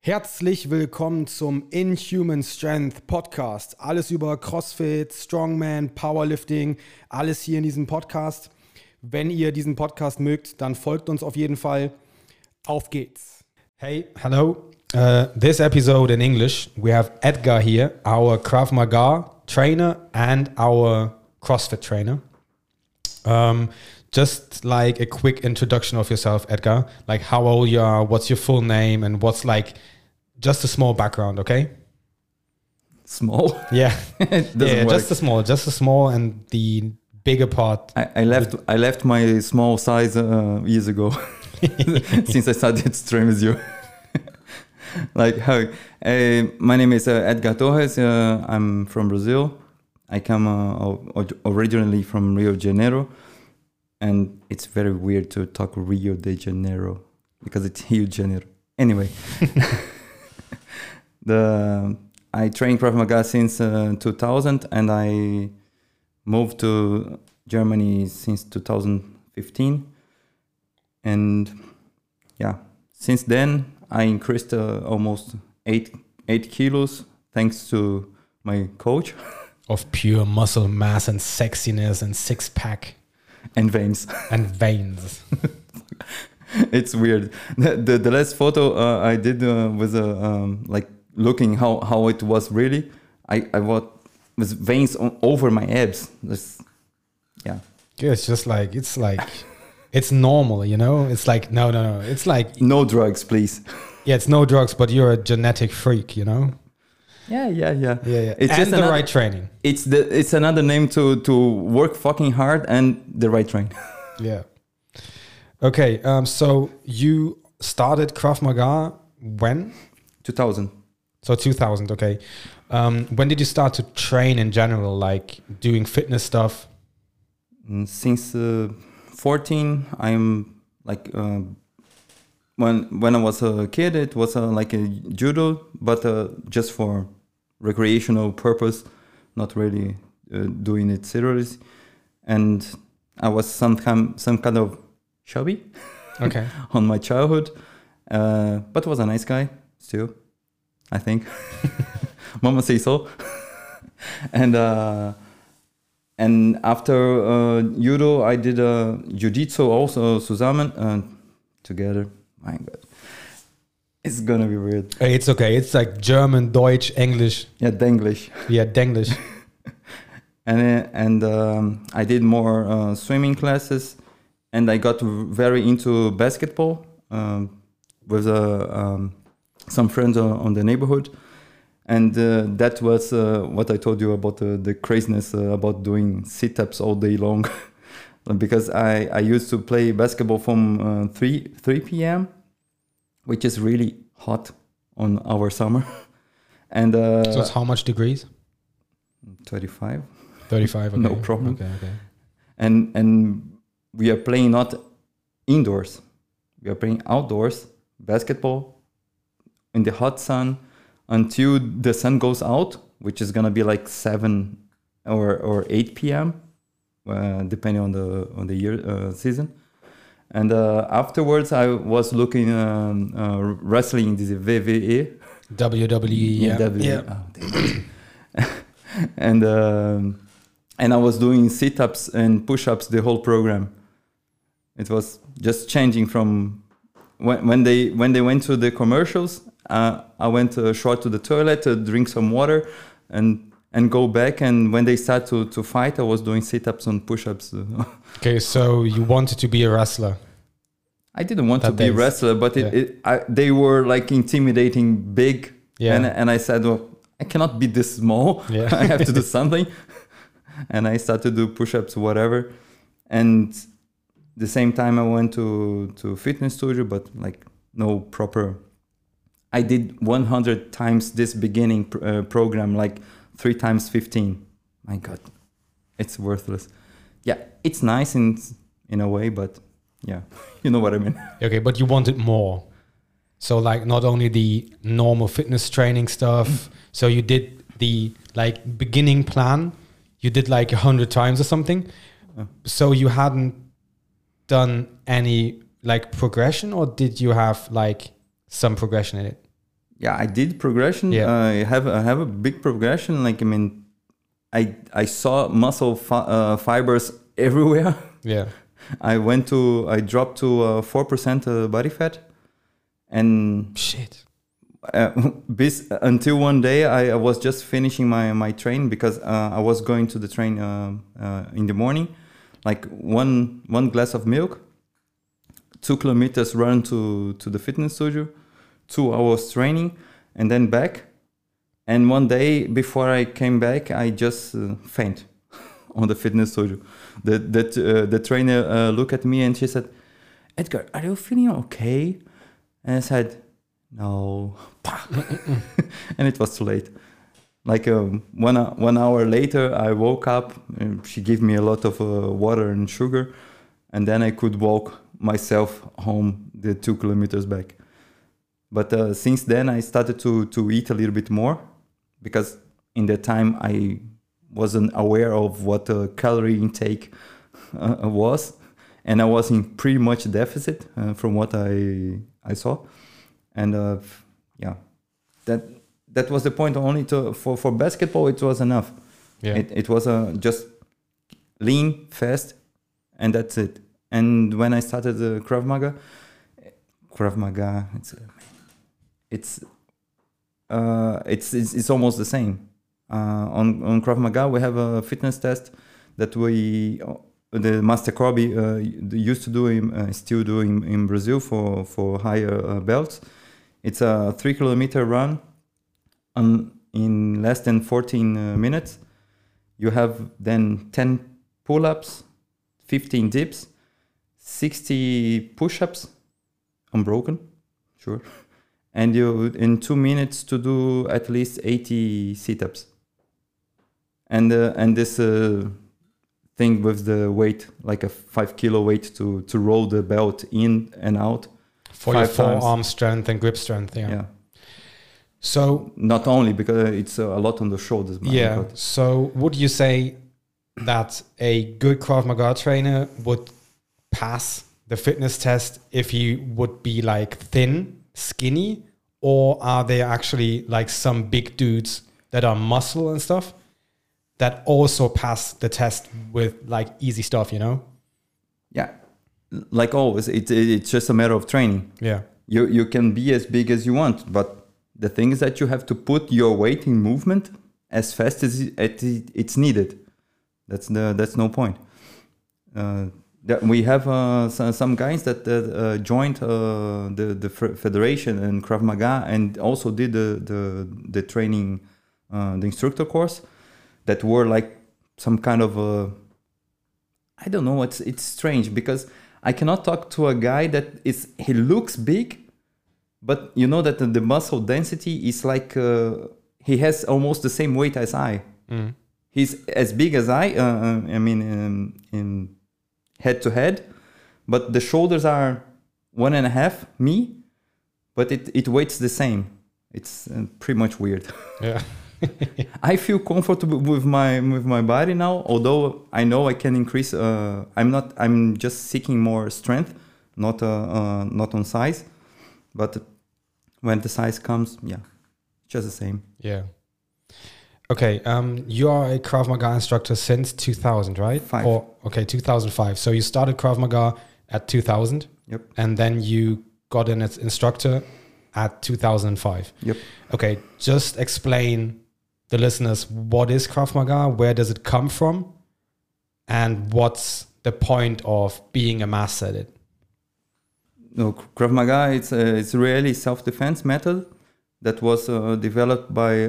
Herzlich willkommen zum Inhuman Strength Podcast. Alles über CrossFit, Strongman, Powerlifting, alles hier in diesem Podcast. Wenn ihr diesen Podcast mögt, dann folgt uns auf jeden Fall. Auf geht's. Hey, hello. This episode in English, we have Edgar here, our Krav Maga trainer and our CrossFit trainer. Just like a quick introduction of yourself, Edgar. Like how old you are, what's your full name, and what's like just a small background, okay? Small? Yeah, yeah, just a small, and the bigger part. I left my small size years ago, since I started to train with you. Like how? My name is Edgar Torres. I'm from Brazil. I come originally from Rio de Janeiro. And it's very weird to talk Rio de Janeiro because it's Rio de Janeiro. Anyway, I train Krav Maga since 2000, and I moved to Germany since 2015. And yeah, since then I increased almost 8 kilos thanks to my coach. Of pure muscle mass and sexiness and six pack. And veins. And veins. It's weird. The last photo I did was like looking how it was really. I was with veins over my abs. Yeah. It's just like, it's normal, you know? It's like, no. It's like... No drugs, please. Yeah, it's no drugs, but you're a genetic freak, you know? Yeah. It's just the right training. It's another name to work fucking hard and the right training. Yeah. Okay. So you started Krav Maga when? 2000. So 2000. Okay. When did you start to train in general, like doing fitness stuff? Since 14, I'm like when I was a kid, it was like a judo, but just for recreational purpose, not really doing it seriously. And I was some kind of chubby, okay, on my childhood, but was a nice guy still, I think. Mama say so. And after judo, I did jiu-jitsu also zusammen together. My God. It's gonna be weird. It's okay. It's like German, Deutsch, English. Yeah, Denglish. Yeah, Denglish. and I did more swimming classes, and I got very into basketball with some friends on the neighborhood. And that was what I told you about the craziness about doing sit-ups all day long. Because I used to play basketball from 3 p.m., which is really hot on our summer. And so it's how much degrees? 35. 35, okay. No problem. Okay. And we are playing not indoors. We are playing outdoors, basketball, in the hot sun until the sun goes out, which is going to be like 7 or 8 p.m., depending on the year season. And afterwards, I was looking wrestling, this WWE. WWE, yeah. And I was doing sit-ups and push-ups the whole program. It was just changing from when they went to the commercials. I went short to the toilet to drink some water and go back. And when they start to fight, I was doing sit-ups and push-ups. Okay, so you wanted to be a wrestler. I didn't want to be a wrestler, but they were like intimidating, big. Yeah. And I said, well, I cannot be this small. Yeah. I have to do something. And I started to do push-ups, whatever. And the same time I went to fitness studio, but like no proper. I did 100 times this beginning program, like 3 times 15. My God, it's worthless. Yeah, it's nice in a way, but yeah, you know what I mean. Okay, but you wanted more. So like not only the normal fitness training stuff. So you did the like beginning plan. You did like 100 times or something. So you hadn't done any like progression, or did you have like some progression in it? Yeah, I did progression. Yeah. I have a big progression. Like, I mean, I saw muscle fibers everywhere. Yeah. I dropped to 4% body fat, and Shit. until one day I was just finishing my train, because I was going to the train in the morning, like one glass of milk, 2 kilometers run to the fitness studio, 2 hours training, and then back. And one day before I came back, I just faint on the fitness studio. The trainer looked at me and she said, "Edgar, are you feeling okay?" And I said, "No." And it was too late. Like 1 hour later, I woke up. And she gave me a lot of water and sugar, and then I could walk myself home the 2 kilometers back. But since then, I started to eat a little bit more, because in that time I wasn't aware of what calorie intake was, and I was in pretty much deficit from what I saw, and yeah, that was the point. Only for basketball, it was enough. Yeah. It was just lean, fast, and that's it. And when I started Krav Maga, it's almost the same. On Krav Maga, we have a fitness test that the Master Corby used to do, still do in Brazil for higher belts. It's a 3 kilometer run in less than 14 minutes. You have then 10 pull-ups, 15 dips, 60 push-ups, unbroken, sure. And you in 2 minutes to do at least 80 sit-ups. And this thing with the weight, like a 5 kilo weight to roll the belt in and out. For your forearm strength and grip strength, Yeah. So not only because it's a lot on the shoulders. Yeah. So would you say that a good Krav Maga trainer would pass the fitness test if he would be like thin, skinny, or are there actually like some big dudes that are muscle and stuff that also pass the test with like easy stuff, you know? Yeah. Like always, it's just a matter of training. Yeah. You can be as big as you want, but the thing is that you have to put your weight in movement as fast as it's needed. That's no point. That we have some guys that joined the federation and Krav Maga, and also did the training, the instructor course, that were like some kind of I don't know. It's strange because I cannot talk to a guy that he looks big, but you know that the muscle density is like he has almost the same weight as I. Mm. He's as big as I mean, in head to head, but the shoulders are 1.5 me, but it weights the same. It's pretty much weird. Yeah. I feel comfortable with my body now, although I know I can increase. I'm just seeking more strength, not on size, but when the size comes, yeah, just the same. Yeah. Okay, you are a Krav Maga instructor since 2000, right? 2005. So you started Krav Maga at 2000. Yep. And then you got an instructor at 2005. Yep. Okay, just explain the listeners what is Krav Maga, where does it come from, and what's the point of being a master at it? No, Krav Maga, it's really self-defense method that was developed by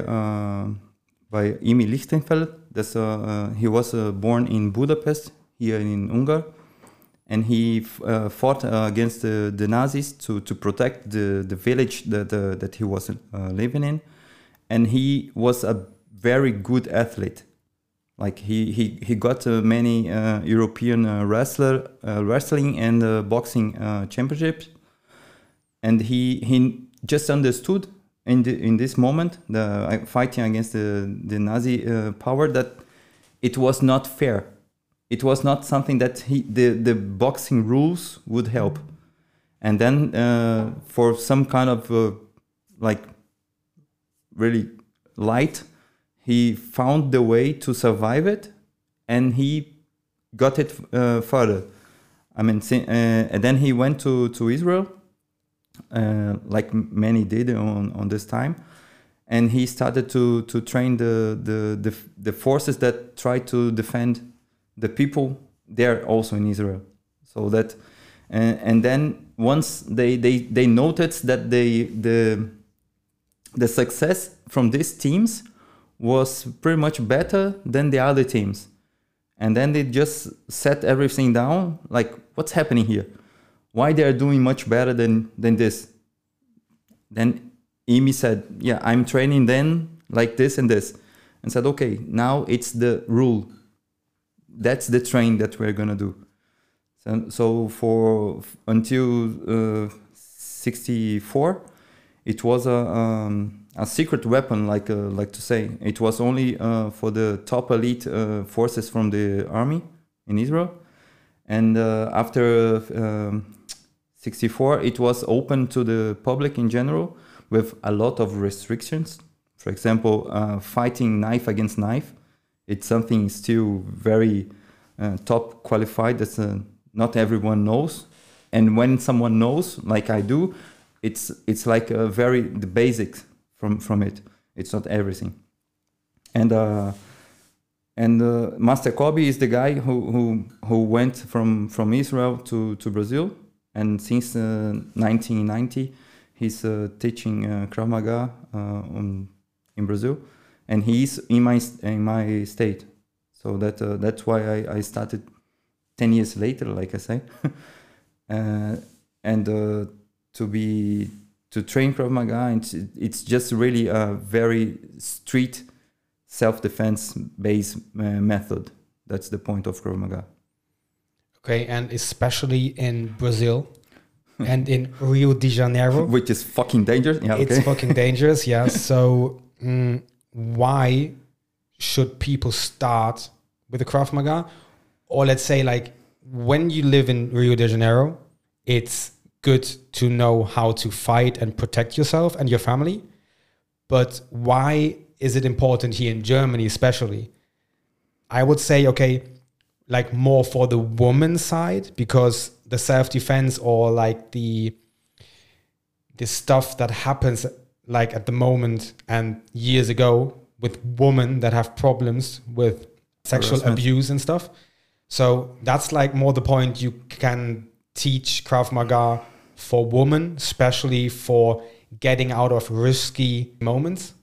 Emil Lichtenfeld. He was born in Budapest, here in Hungary, and he fought against the Nazis to protect the village that he was living in. And he was a very good athlete. Like he got many European wrestling and boxing championships, and he just understood in this moment, the fighting against the Nazi power, that it was not fair. It was not something that the boxing rules would help. And then for some kind of like really light, he found the way to survive it, and he got it further. I mean, and then he went to Israel, like many did on this time, and he started to train the forces that try to defend the people there also in Israel. So that, and then once they noticed that the success from these teams was pretty much better than the other teams. And then they just set everything down, like, what's happening here? Why they are doing much better than this? Then Imi said, yeah, I'm training then like this and this. And said, okay, now it's the rule. That's the train that we're going to do. So for until 64, it was a secret weapon, like to say. It was only for the top elite forces from the army in Israel. And after 64, it was open to the public in general with a lot of restrictions. For example, fighting knife against knife. It's something still very top qualified that not everyone knows. And when someone knows, like I do, it's like the basics from it. It's not everything. And Master Kobe is the guy who went from Israel to Brazil, and since 1990 he's teaching Krav Maga in Brazil, and he's in my state. So that's why I started 10 years later, like I say, and to train Krav Maga. It's just really a very street self-defense based method. That's the point of Krav Maga. Okay, and especially in Brazil and in Rio de Janeiro, which is fucking dangerous. Yeah, it's fucking dangerous. Yeah. So why should people start with the Krav Maga? Or let's say, like, when you live in Rio de Janeiro, it's good to know how to fight and protect yourself and your family. But why is it important here in Germany, especially? I would say, okay, like more for the woman's side, because the self-defense or like the stuff that happens like at the moment and years ago with women that have problems with sexual abuse and stuff. So that's like more the point. You can teach Krav Maga for women, especially for getting out of risky moments.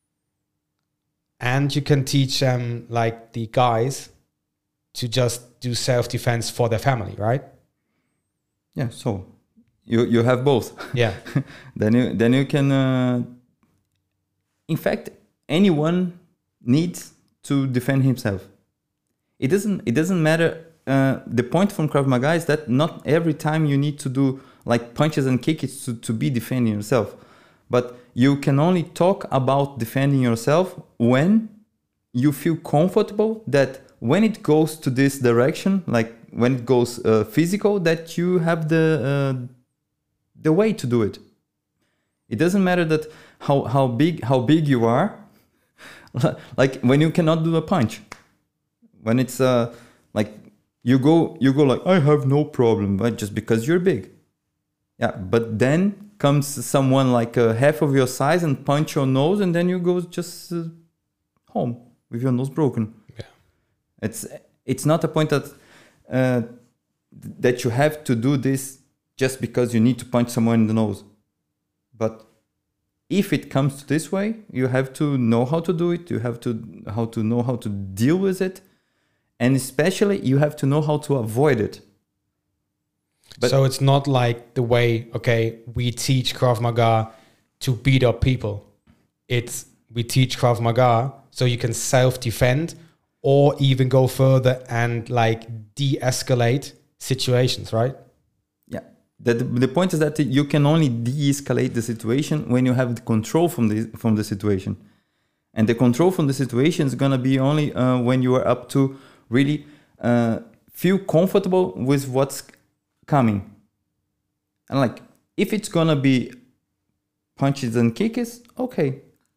And you can teach them, like the guys, to just do self-defense for their family, right? Yeah, so you have both. Yeah. then you can... in fact, anyone needs to defend himself. It doesn't matter. The point from Krav Maga is that not every time you need to do like punches and kicks to be defending yourself. But you can only talk about defending yourself when you feel comfortable that when it goes to this direction, like when it goes physical, that you have the way to do it. It doesn't matter that how big you are. Like when you cannot do a punch, when it's like you go like, I have no problem, but just because you're big. Yeah, but then comes someone like half of your size and punch your nose, and then you go just home with your nose broken. Yeah, it's not a point that that you have to do this just because you need to punch someone in the nose. But if it comes to this way, you have to know how to do it. You have to know how to deal with it, and especially you have to know how to avoid it. But so it's not like the way, okay, we teach Krav Maga to beat up people. It's we teach Krav Maga so you can self-defend or even go further and like de-escalate situations, right? Yeah. The point is that you can only de-escalate the situation when you have the control from the situation. And the control from the situation is going to be only when you are up to really feel comfortable with what's coming. And like, if it's gonna be punches and kicks, okay,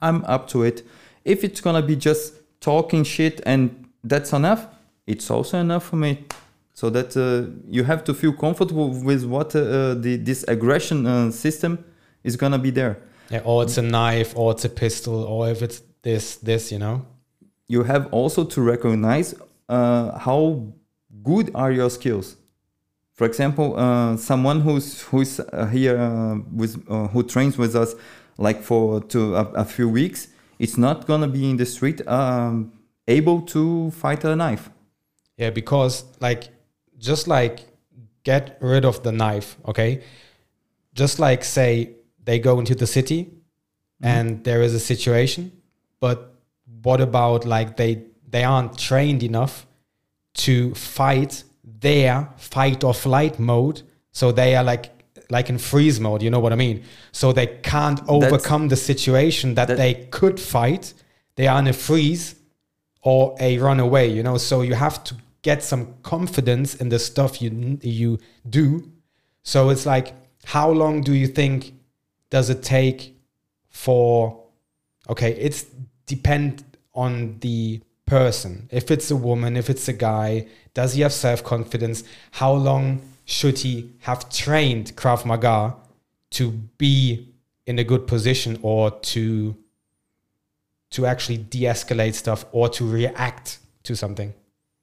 I'm up to it. If it's gonna be just talking shit and that's enough, it's also enough for me. So that you have to feel comfortable with what this aggression system is gonna be there. Yeah, or it's a knife, or it's a pistol, or if it's this, you know. You have also to recognize how good are your skills. For example, someone who's here who trains with us like for a few weeks, it's not gonna be in the street able to fight a knife. Yeah, because just get rid of the knife, okay? Just say they go into the city and there is a situation, but what about they aren't trained enough to fight their fight or flight mode, so they are like in freeze mode, you know what I mean? So they can't overcome the situation that they could fight. They are in a freeze or a runaway, you know? So you have to get some confidence in the stuff you do. So it's how long do you think does it take for, okay, it's depend on the person. If it's a woman, if it's a guy, does he have self-confidence? How long should he have trained Krav Maga to be in a good position, or to actually de-escalate stuff, or to react to something?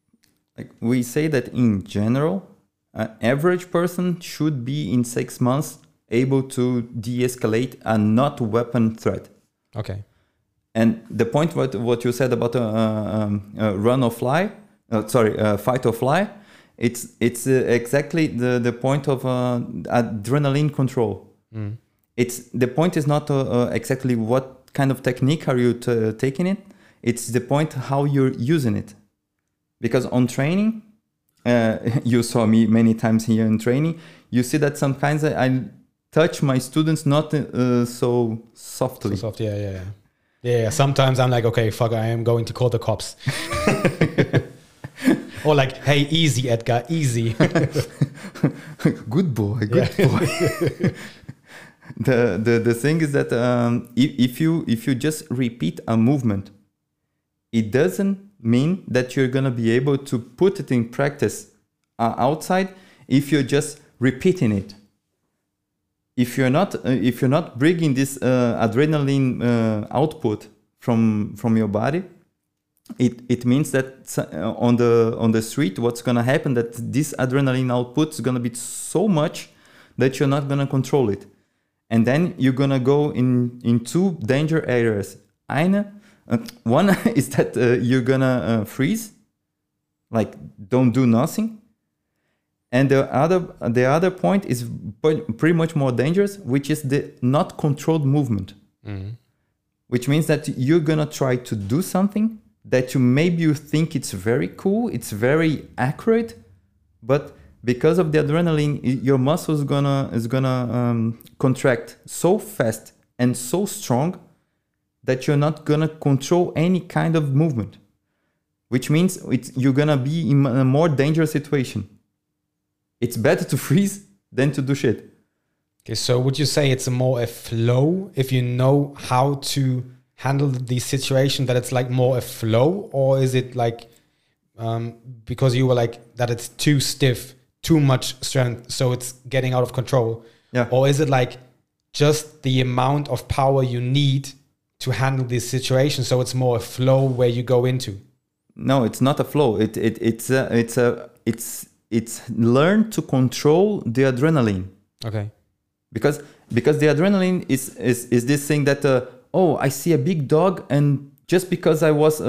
We say that in general, an average person should be in 6 months able to de-escalate a not weapon threat. Okay. And the point what you said about run or fly, fight or fly, it's exactly the point of adrenaline control. It's the point is not exactly what kind of technique are you taking it. It's the point how you're using it. Because on training, you saw me many times here in training, you see that sometimes I touch my students not so softly. So soft, yeah. Yeah, sometimes I'm okay, fuck, I am going to call the cops. Or hey, easy, Edgar, easy. Good boy. The thing is that if you just repeat a movement, it doesn't mean that you're gonna be able to put it in practice outside if you're just repeating it. If you're not bringing this adrenaline output from your body, it means that on the street, what's gonna happen that this adrenaline output is gonna be so much that you're not gonna control it, and then you're gonna go in two danger areas. One is that you're gonna freeze, don't do nothing. And the other point is pretty much more dangerous, which is the not controlled movement. Which means that you're gonna try to do something that you think it's very cool, it's very accurate, but because of the adrenaline, your muscles is gonna contract so fast and so strong that you're not gonna control any kind of movement. Which means you're gonna be in a more dangerous situation. It's better to freeze than to do shit. Okay, so would you say it's more a flow if you know how to handle the situation, that it's more a flow? Or is it because you were that it's too stiff, too much strength, so it's getting out of control? Yeah. Or is it just the amount of power you need to handle this situation, so it's more a flow where you go into? No, it's not a flow. It's learn to control the adrenaline. Okay. Because the adrenaline is this thing that I see a big dog, and just because I was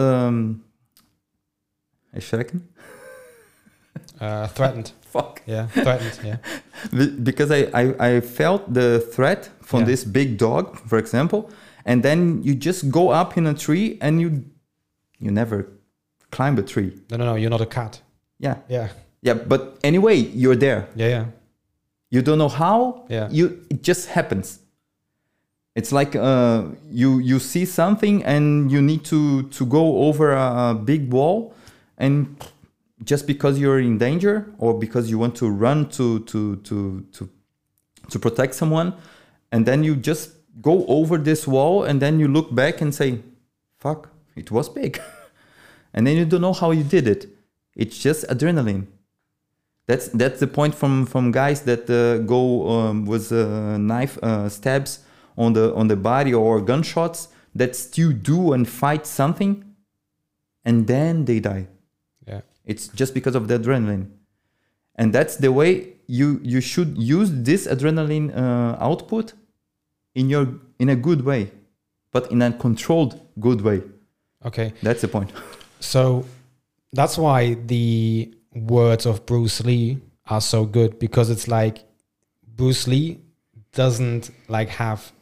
threatened. Fuck. Yeah, threatened. Yeah. Because I felt the threat from this big dog, for example, and then you just go up in a tree and you never climb a tree. No, you're not a cat. Yeah. Yeah. Yeah, but anyway, you're there. Yeah. You don't know how. Yeah. It just happens. It's you see something and you need to go over a big wall, and just because you're in danger or because you want to run to protect someone, and then you just go over this wall, and then you look back and say, fuck, it was big. And then you don't know how you did it. It's just adrenaline. That's the point from guys that go with knife stabs on the body or gunshots that still do and fight something, and then they die. Yeah. It's just because of the adrenaline. And that's the way you should use this adrenaline output in a good way, but in a controlled good way. Okay. That's the point. So that's why the words of Bruce Lee are so good, because it's like Bruce Lee doesn't like have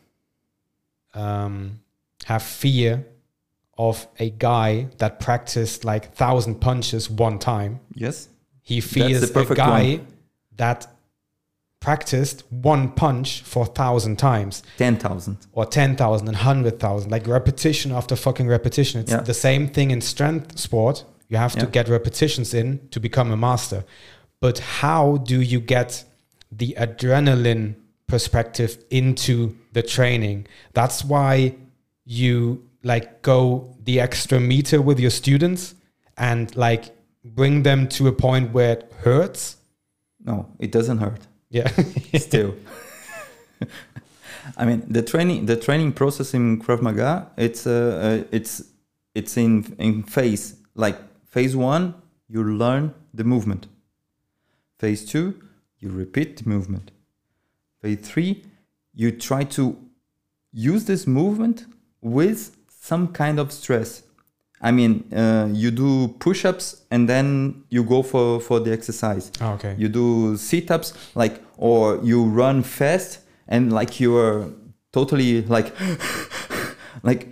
fear of a guy that practiced like 1,000 punches one time. Yes. He fears a guy that practiced one punch for 1,000 times. 10,000. Or 10,000 and 100,000, like repetition after fucking repetition. It's the same thing in strength sport. You have to get repetitions in to become a master. But how do you get the adrenaline perspective into the training? That's why you like go the extra meter with your students and like bring them to a point where it hurts. No, it doesn't hurt. Yeah. Still. I mean, the training process in Krav Maga, it's in phase. Like phase 1, you learn the movement. Phase 2, you repeat the movement. Phase 3, you try to use this movement with some kind of stress. I mean, you do push-ups and then you go for the exercise. Oh, okay. You do sit-ups, like, or you run fast and like you are totally like, like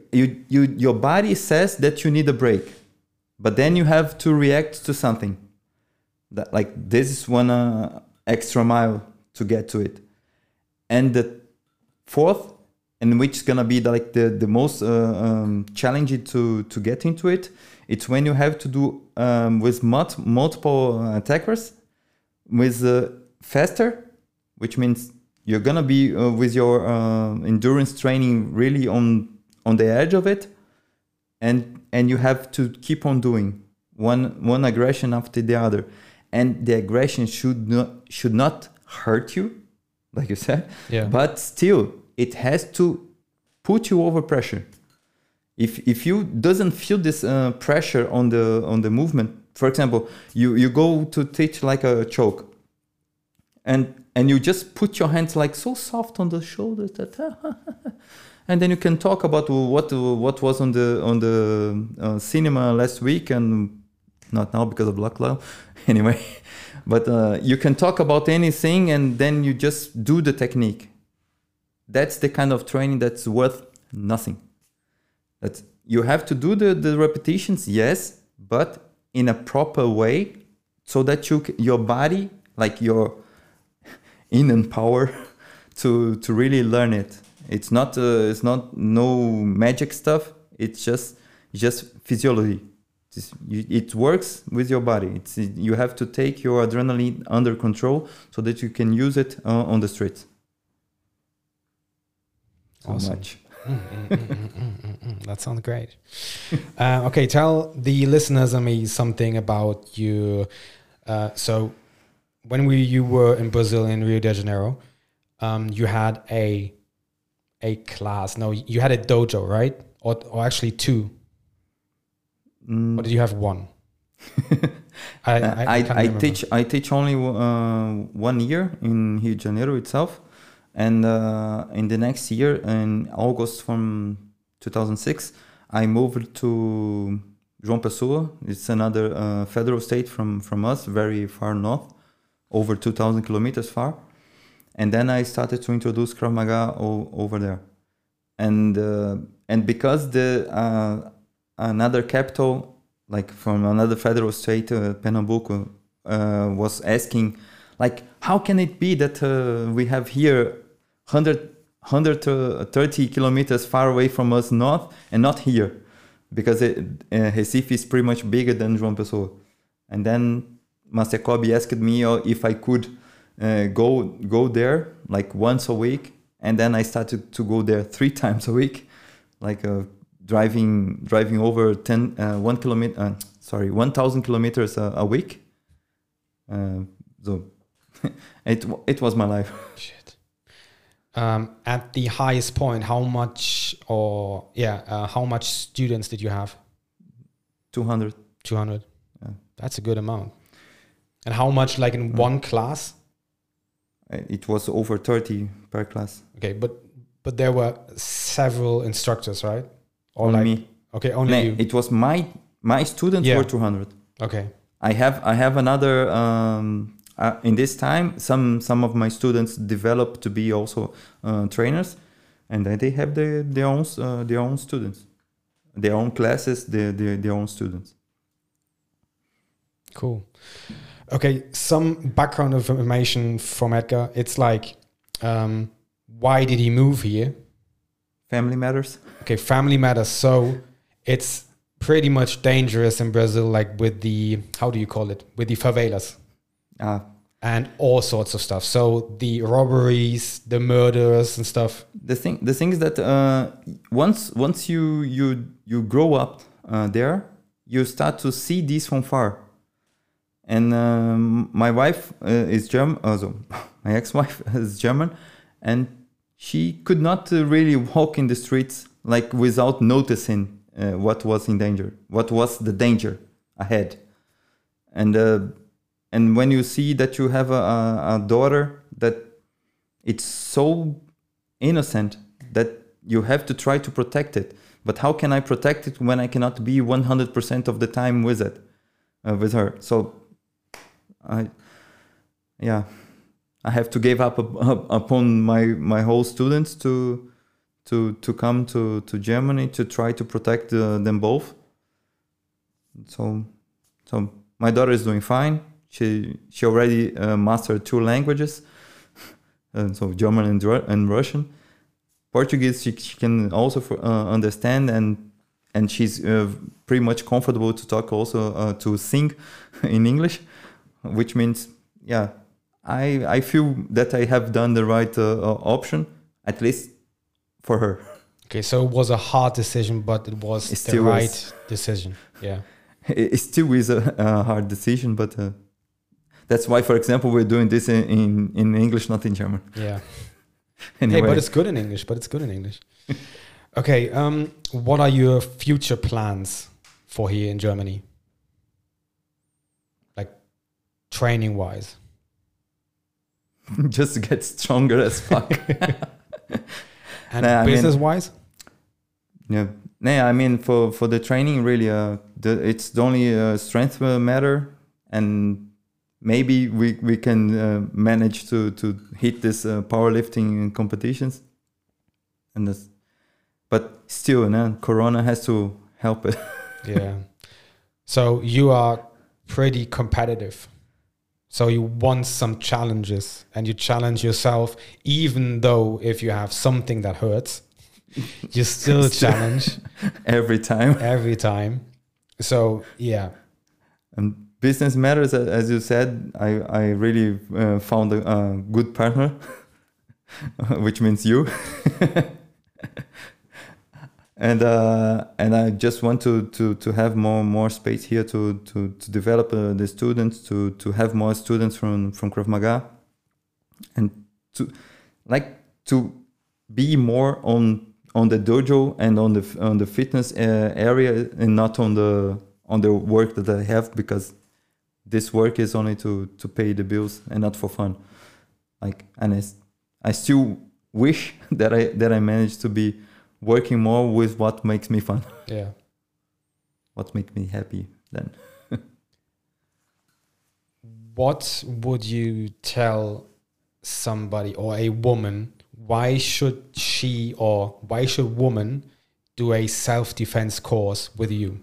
your body says that you need a break, but then you have to react to something. That like this is one extra mile to get to it, and the fourth, and which is gonna be the most challenging to get into it. It's when you have to do with multiple attackers, with faster, which means you're gonna be with your endurance training really on the edge of it, and you have to keep on doing one aggression after the other, and the aggression should not hurt you, like you said, but still it has to put you over pressure. If you doesn't feel this pressure on the movement, for example, you go to teach like a choke, and you just put your hands like so soft on the shoulders that, and then you can talk about what was on the cinema last week, and not now because of lockdown, anyway. But you can talk about anything, and then you just do the technique. That's the kind of training that's worth nothing. That you have to do the repetitions, yes, but in a proper way, so that your body, like your inner power, to really learn it. It's not no magic stuff. It's just physiology. It works with your body. You have to take your adrenaline under control so that you can use it on the streets. So awesome. Much. That sounds great. Okay, tell the listeners and me something about you. So when you were in Brazil, in Rio de Janeiro, you had a class. No, you had a dojo, right? Or actually two. Or did you have one? I teach only 1 year in Rio de Janeiro itself, and in the next year, in August from 2006, I moved to João Pessoa. It's another federal state from us, very far north, over 2,000 kilometers far. And then I started to introduce Krav Maga over there, and because another capital, like from another federal state, Pernambuco, was asking, like, how can it be that we have here 130 kilometers far away from us north and not here? Because Recife is pretty much bigger than João Pessoa. And then Master Kobe asked me if I could go there like once a week and then I started to go there 3 times a week, like driving over 1,000 kilometers a week. So it was my life. Shit. At the highest point, how much students did you have? 200. 200. Yeah. That's a good amount. And how much, like in one class? It was over 30 per class. Okay, but there were several instructors, right? Or Only like me. Okay, only you. It was my students were 200. Okay. I have another. In this time, some of my students developed to be also trainers, and they have their own students, their own classes, their own students. Cool. Okay, some background information from Edgar. It's like, why did he move here? Family matters. Okay, family matters. So it's pretty much dangerous in Brazil, like with the, how do you call it? With the favelas. And all sorts of stuff. So the robberies, the murders and stuff. The thing is that once you grow up there, you start to see this from far. And my wife is German. Also, my ex-wife is German, and she could not really walk in the streets like without noticing what was in danger, what was the danger ahead. And when you see that you have a daughter that it's so innocent that you have to try to protect it. But how can I protect it when I cannot be 100% of the time with it, with her? So I have to give up upon my whole students to come to Germany to try to protect them both. So my daughter is doing fine. She already mastered 2 languages, so German and Russian. Portuguese she can also understand, and she's pretty much comfortable to talk also to sing in English, which means I feel that I have done the right option, at least for her. Okay, so it was a hard decision, but it was the right decision. Yeah, it still is a hard decision, but that's why, for example, we're doing this in English, not in German. Yeah. Anyway. Hey, but it's good in English. Okay, what are your future plans for here in Germany? Like training-wise? Just to get stronger as fuck. And business-wise? I mean, for the training, really, it's the only strength matter, and maybe we can manage to hit this powerlifting competitions, but still, Corona has to help it. Yeah. So you are pretty competitive. So you want some challenges, and you challenge yourself, even though if you have something that hurts, you still challenge every time. So yeah. And business matters, as you said. I really found a good partner, which means you. And I just want to have more space here to develop the students, to have more students from Krav Maga, and to be more on the dojo and on the fitness area, and not on the work that I have, because this work is only to pay the bills and not for fun. And I still wish that I managed to be working more with what makes me fun. Yeah. What makes me happy then. What would you tell somebody or a woman, why should woman do a self-defense course with you?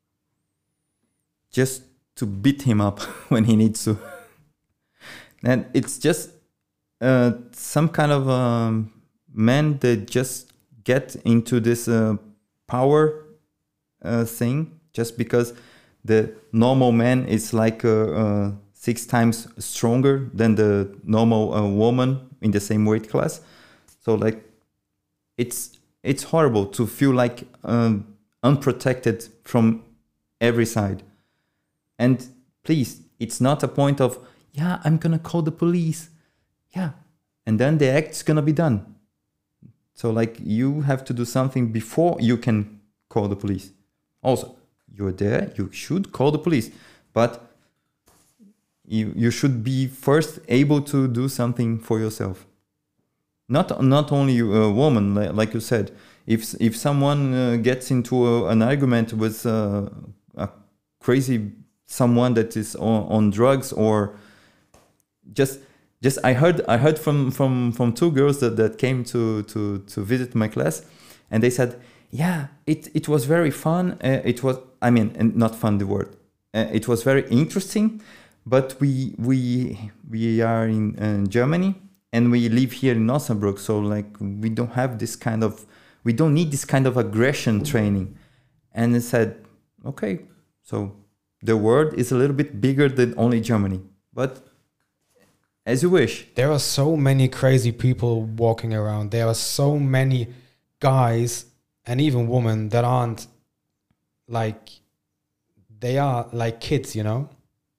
Just to beat him up when he needs to. And it's just some kind of men that just get into this power thing, just because the normal man is like 6 times stronger than the normal woman in the same weight class. So like, it's horrible to feel like unprotected from every side. And please, it's not a point of, yeah, I'm gonna call the police. Yeah. And then the act's gonna be done. So like, you have to do something before you can call the police. Also, you're there, you should call the police. But you should be first able to do something for yourself. Not only a woman, like you said. If someone gets into an argument with a crazy someone that is on drugs, or just I heard from two girls that came to visit my class, and they said, yeah, it was very fun. It was, I mean, and not fun the word. It was very interesting, but we are in Germany, and we live here in Osnabrück, so like we don't need this kind of aggression training. And they said, okay, so the world is a little bit bigger than only Germany, but as you wish. There are so many crazy people walking around. There are so many guys and even women that aren't like, they are like kids, you know?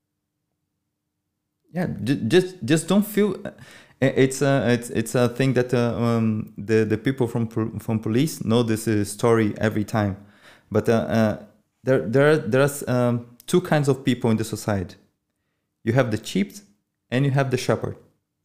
Yeah, just don't feel. It's a thing that the people from police know this story every time, but there's two kinds of people in the society. You have the sheep and you have the shepherd.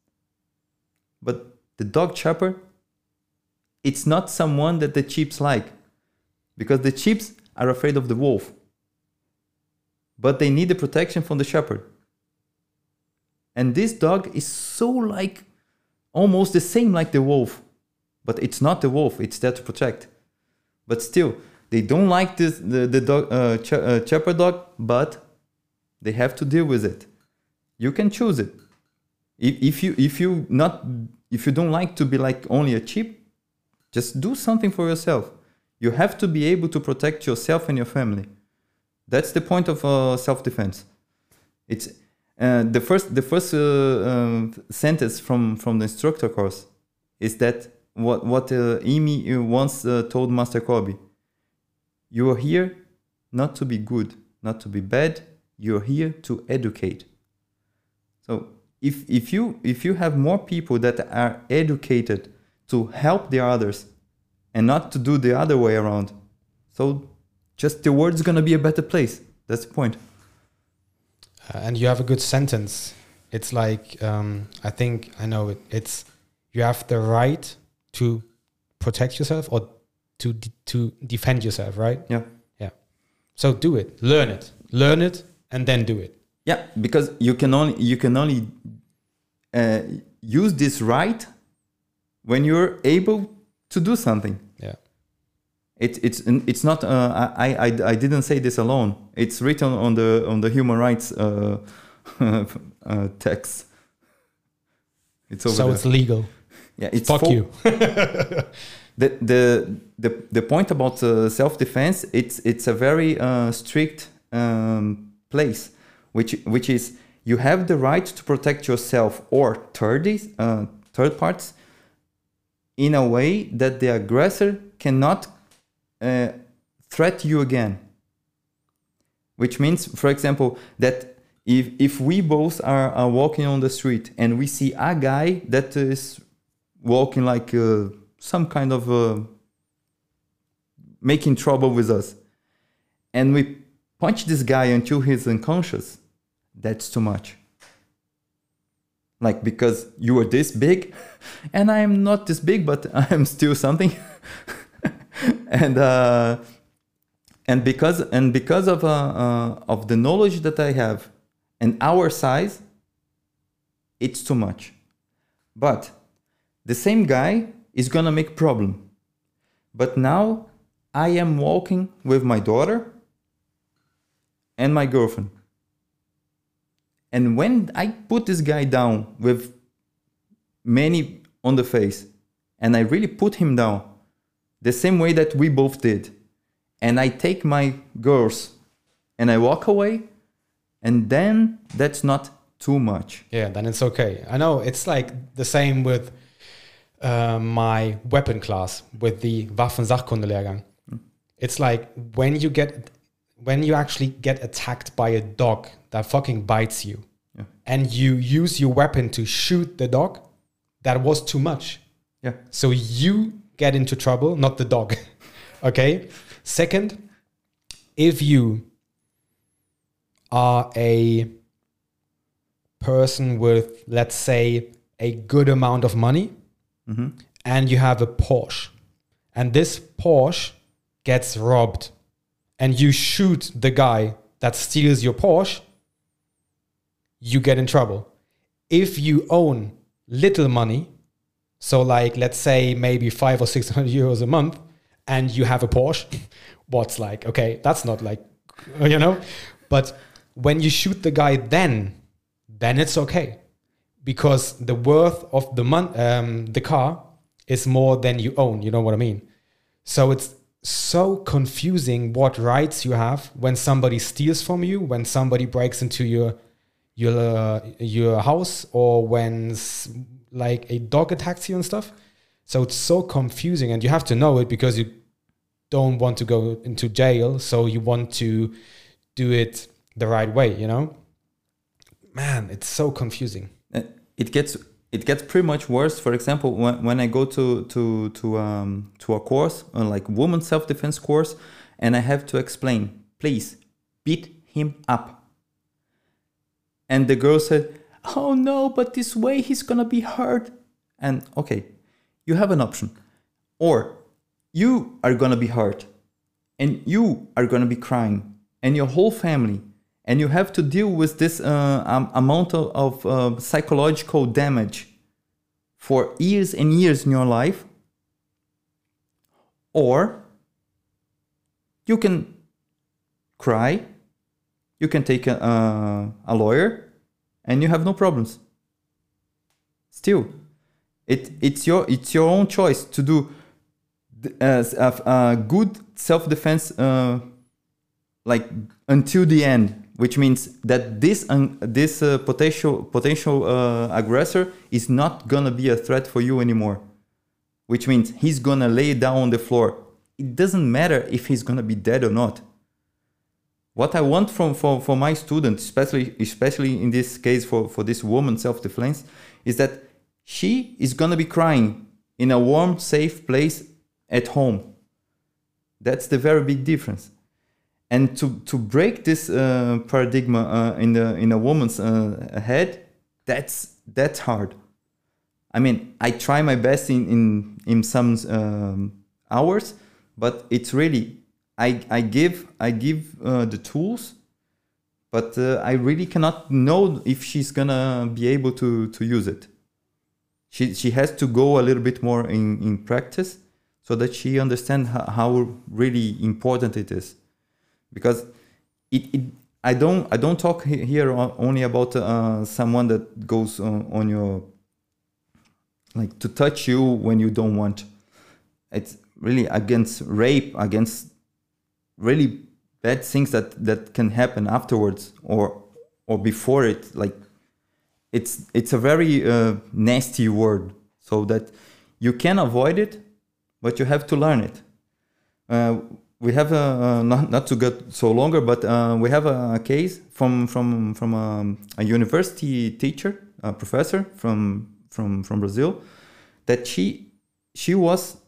But the dog shepherd, it's not someone that the sheep like, because the sheep are afraid of the wolf, but they need the protection from the shepherd. And this dog is so like almost the same like the wolf, but it's not the wolf, it's there to protect. But still, they don't like the dog, shepherd dog, but they have to deal with it. You can choose it. If you don't like to be like only a sheep, just do something for yourself. You have to be able to protect yourself and your family. That's the point of self-defense. It's the first sentence from the instructor course is that what Amy once told Master Kobe. You are here not to be good, not to be bad. You're here to educate. So if you have more people that are educated to help the others and not to do the other way around, so just the world's gonna be a better place. That's the point. And you have a good sentence. It's like, I think I know it. It's, you have the right to protect yourself or to defend yourself, right? Yeah. Yeah. So do it, learn it, and then do it. Yeah, because you can only use this right when you're able to do something. Yeah. It's not. I didn't say this alone. It's written on the human rights text. It's over so there. It's legal. Yeah, it's fuck you. The point about self-defense, it's a very strict place, which is you have the right to protect yourself or third parts in a way that the aggressor cannot threat you again. Which means, for example, that if we both are walking on the street and we see a guy that is walking like some kind of making trouble with us, and we punch this guy until he's unconscious, that's too much. Like, because you are this big and I am not this big, but I am still something. and because of the knowledge that I have and our size, it's too much. But the same guy is gonna make problem. But now I am walking with my daughter and my girlfriend. And when I put this guy down with many on the face, and I really put him down the same way that we both did, and I take my girls and I walk away, and then that's not too much. Yeah, then it's okay. I know it's like the same with my weapon class with the Waffensachkunde-Lehrgang. It's like when you actually get attacked by a dog that fucking bites you, and you use your weapon to shoot the dog, that was too much. Yeah. So you get into trouble, not the dog. Okay. Second, if you are a person with, let's say, a good amount of money, and you have a Porsche, and this Porsche gets robbed, and you shoot the guy that steals your Porsche, you get in trouble. If you own little money, so like, let's say maybe 500 or 600 euros a month, and you have a Porsche, what's like, okay, that's not like, you know, but when you shoot the guy, then it's okay, because the worth of the car is more than you own. You know what I mean? So it's so confusing what rights you have when somebody steals from you, when somebody breaks into your house, or when like a dog attacks you and stuff. So it's so confusing, and you have to know it because you don't want to go into jail. So you want to do it the right way, you know? Man, it's so confusing. It gets pretty much worse. For example, when I go to a course, like woman self-defense course, and I have to explain, please beat him up. And the girl said, oh no, but this way he's gonna be hurt. And okay, you have an option. Or you are gonna be hurt, and you are gonna be crying, and your whole family, and you have to deal with this amount of psychological damage for years and years in your life. Or you can cry, you can take a lawyer, and you have no problems. Still, it's your own choice to do good self-defense, like until the end, which means that this potential aggressor is not gonna be a threat for you anymore. Which means he's gonna lay down on the floor. It doesn't matter if he's gonna be dead or not. What I want for my students, especially in this case for this woman self-defense, is that she is gonna be crying in a warm, safe place at home. That's the very big difference. And to break this paradigm in a woman's head, that's hard. I mean, I try my best in some hours, but it's really I give the tools, but I really cannot know if she's gonna be able to use it. She has to go a little bit more in practice so that she understands how really important it is. Because I don't talk here only about someone that goes on your, like, to touch you when you don't want. It's really against rape, against really bad things that can happen afterwards or before it. Like it's a very nasty word, so that you can avoid it, but you have to learn it. We have not to get so longer, but we have a case from a university teacher, a professor from Brazil, that she was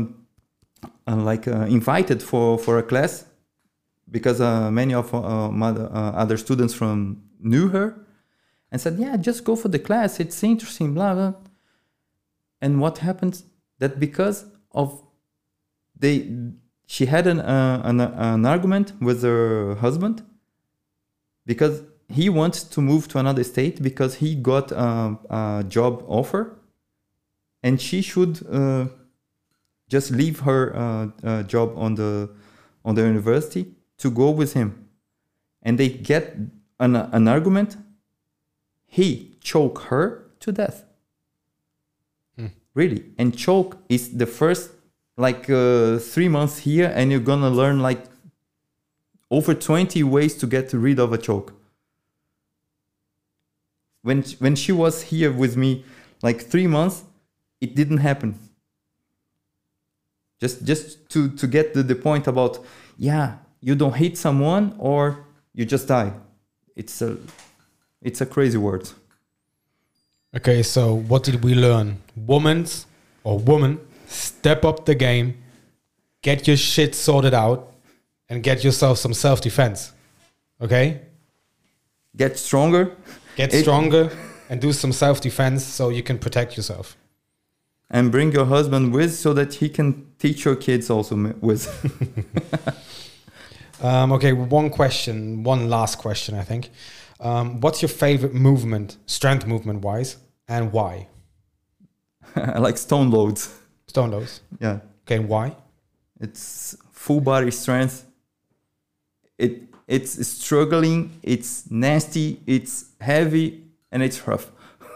invited for a class because many of other students knew her and said, yeah, just go for the class, it's interesting, blah blah. And what happens? That because of she had an argument with her husband because he wants to move to another state because he got a job offer, and she should just leave her job on the university to go with him. And they get an argument. He choked her to death. Really. And choke is the first 3 months here, and you're gonna learn over 20 ways to get rid of a choke. When she was here with me 3 months, it didn't happen. Just to get the point about, you don't hit someone or you just die. It's a crazy word. Okay, so what did we learn? Woman, step up the game, get your shit sorted out, and get yourself some self-defense. Okay? Get stronger. Get stronger and do some self-defense so you can protect yourself. And bring your husband with so that he can teach your kids also with. Okay, one last question, I think. What's your favorite movement, strength movement wise, and why? I like stone loads. Stone loads? Yeah. Okay, and why? It's full body strength. It's struggling, it's nasty, it's heavy, and it's rough.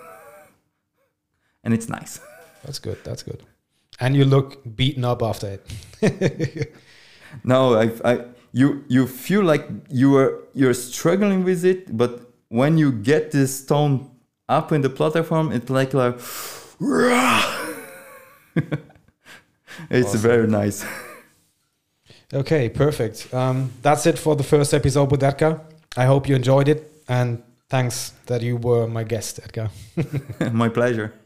And it's nice. That's good. And you look beaten up after it. No, you feel like you're struggling with it, but when you get this stone up in the platform, it's like it's awesome. Very nice. Okay, perfect. That's it for the first episode with Edgar. I hope you enjoyed it, and thanks that you were my guest, Edgar. My pleasure.